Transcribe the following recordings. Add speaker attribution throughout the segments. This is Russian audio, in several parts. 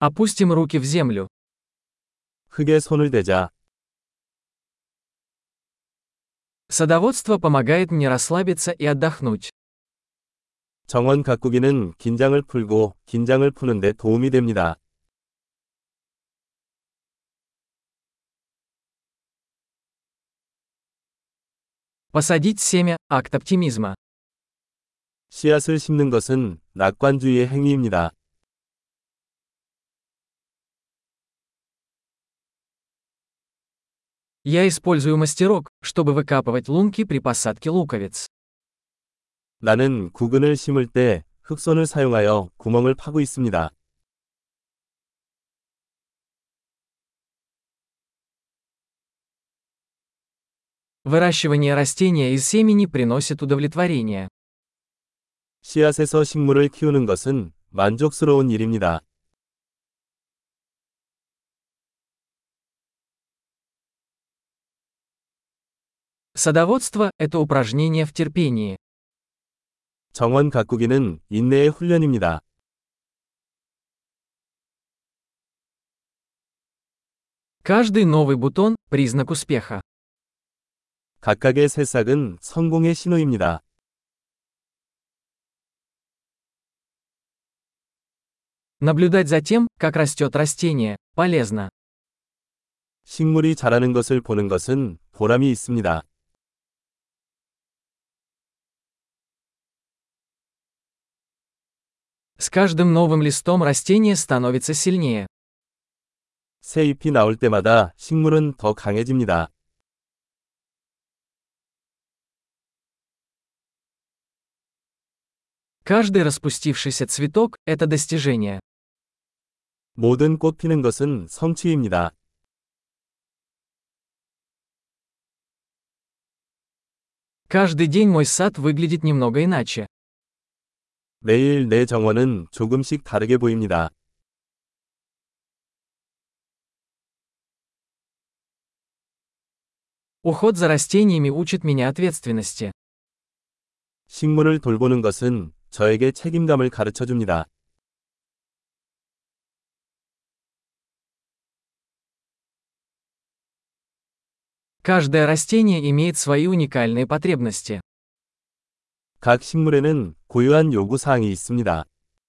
Speaker 1: Опустим руки в землю.
Speaker 2: 흙에 손을 대자.
Speaker 1: Садоводство помогает мне расслабиться и отдохнуть.
Speaker 2: 정원 가꾸기는 긴장을 풀고 긴장을 푸는 데 도움이 됩니다.
Speaker 1: Посадить семя– акт оптимизма.
Speaker 2: 씨앗을 심는 것은 낙관주의의 행위입니다.
Speaker 1: Я использую мастерок, чтобы выкапывать лунки при посадке луковиц.
Speaker 2: 나는 구근을 심을 때 흑손을 사용하여 구멍을 파고 있습니다.
Speaker 1: Выращивание растения из семени приносит удовлетворение.
Speaker 2: 씨앗에서 식물을 키우는 것은 만족스러운 일입니다.
Speaker 1: Садоводство– это упражнение в терпении.
Speaker 2: 정원 가꾸기는 인내의 훈련입니다.
Speaker 1: Каждый новый бутон– признак успеха.
Speaker 2: 각각의 새싹은 성공의 신호입니다.
Speaker 1: Наблюдать за тем, как растет растение, полезно.
Speaker 2: 식물이 자라는 것을 보는 것은 보람이 있습니다.
Speaker 1: С каждым новым листом растение становится сильнее.
Speaker 2: 새 잎이 나올 때마다 식물은 더 강해집니다.
Speaker 1: Каждый распустившийся цветок– это достижение.
Speaker 2: 모든 꽃 피는 것은 성취입니다.
Speaker 1: Каждый день мой сад выглядит немного иначе.
Speaker 2: 매일 내 정원은 조금씩 다르게 보입니다.
Speaker 1: Уход за растениями учит меня ответственности.
Speaker 2: 식물을 돌보는 것은 저에게 책임감을 가르쳐 줍니다.
Speaker 1: Каждое растение имеет свои уникальные потребности.
Speaker 2: 각 식물에는 고유한 요구 사항이 있습니다.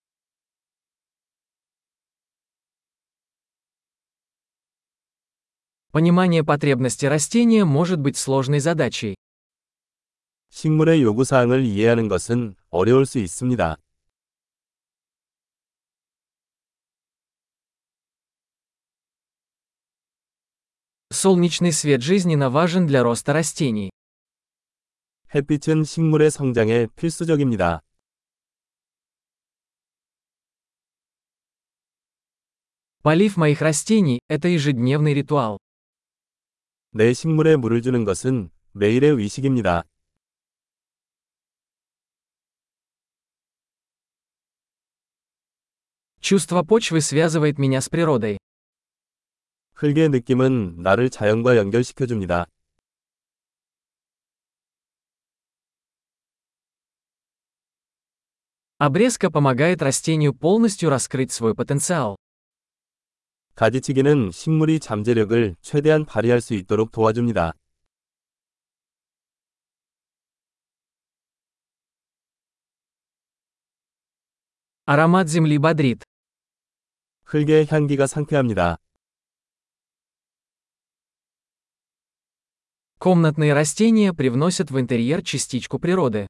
Speaker 1: Понимание потребностей растения может быть сложной задачей.
Speaker 2: 식물의 요구 사항을 이해하는 것은 어려울 수 있습니다.
Speaker 1: Солнечный свет жизненно важен для роста растений.
Speaker 2: 햇빛은 식물의 성장에 필수적입니다.
Speaker 1: Полив моих растений– это ежедневный ритуал.
Speaker 2: 내 식물에 물을 주는 것은 매일의 의식입니다.
Speaker 1: Чувство почвы связывает меня с природой.
Speaker 2: 흙의 느낌은 나를 자연과 연결시켜 줍니다.
Speaker 1: Обрезка помогает растению полностью раскрыть свой потенциал.
Speaker 2: 가지치기는 식물이 잠재력을 최대한 발휘할 수 있도록 도와줍니다.
Speaker 1: Аромат земли бодрит.
Speaker 2: 흙의 향기가 상쾌합니다.
Speaker 1: Комнатные растения привносят в интерьер частичку природы.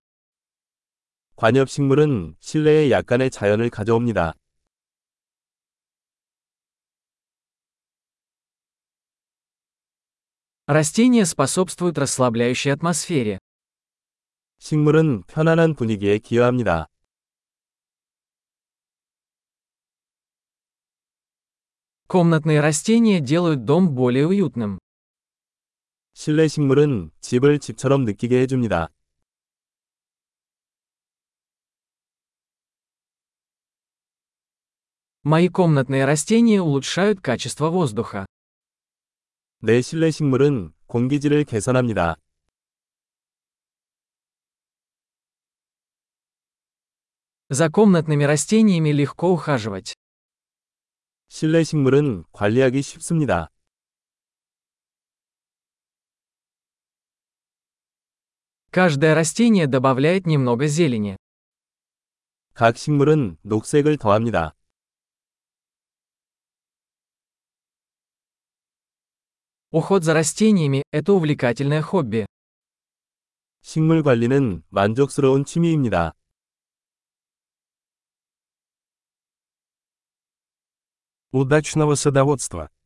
Speaker 2: 관엽식물은 실내에 약간의 자연을 가져옵니다.
Speaker 1: Растения способствуют расслабляющей атмосфере.
Speaker 2: 식물은 편안한 분위기에 기여합니다.
Speaker 1: Комнатные растения делают дом более уютным.
Speaker 2: 실내 식물은 집을 집처럼 느끼게 해줍니다.
Speaker 1: Мои комнатные растения улучшают качество воздуха.
Speaker 2: 내 실내 식물은 공기질을 개선합니다.
Speaker 1: За комнатными растениями легко ухаживать.
Speaker 2: 실내 식물은 관리하기 쉽습니다.
Speaker 1: Каждое растение добавляет немного зелени.
Speaker 2: 각 식물은 녹색을 더합니다.
Speaker 1: Уход за растениями – это увлекательное хобби.
Speaker 2: 식물 관리는 만족스러운 취미입니다.
Speaker 3: Удачного садоводства!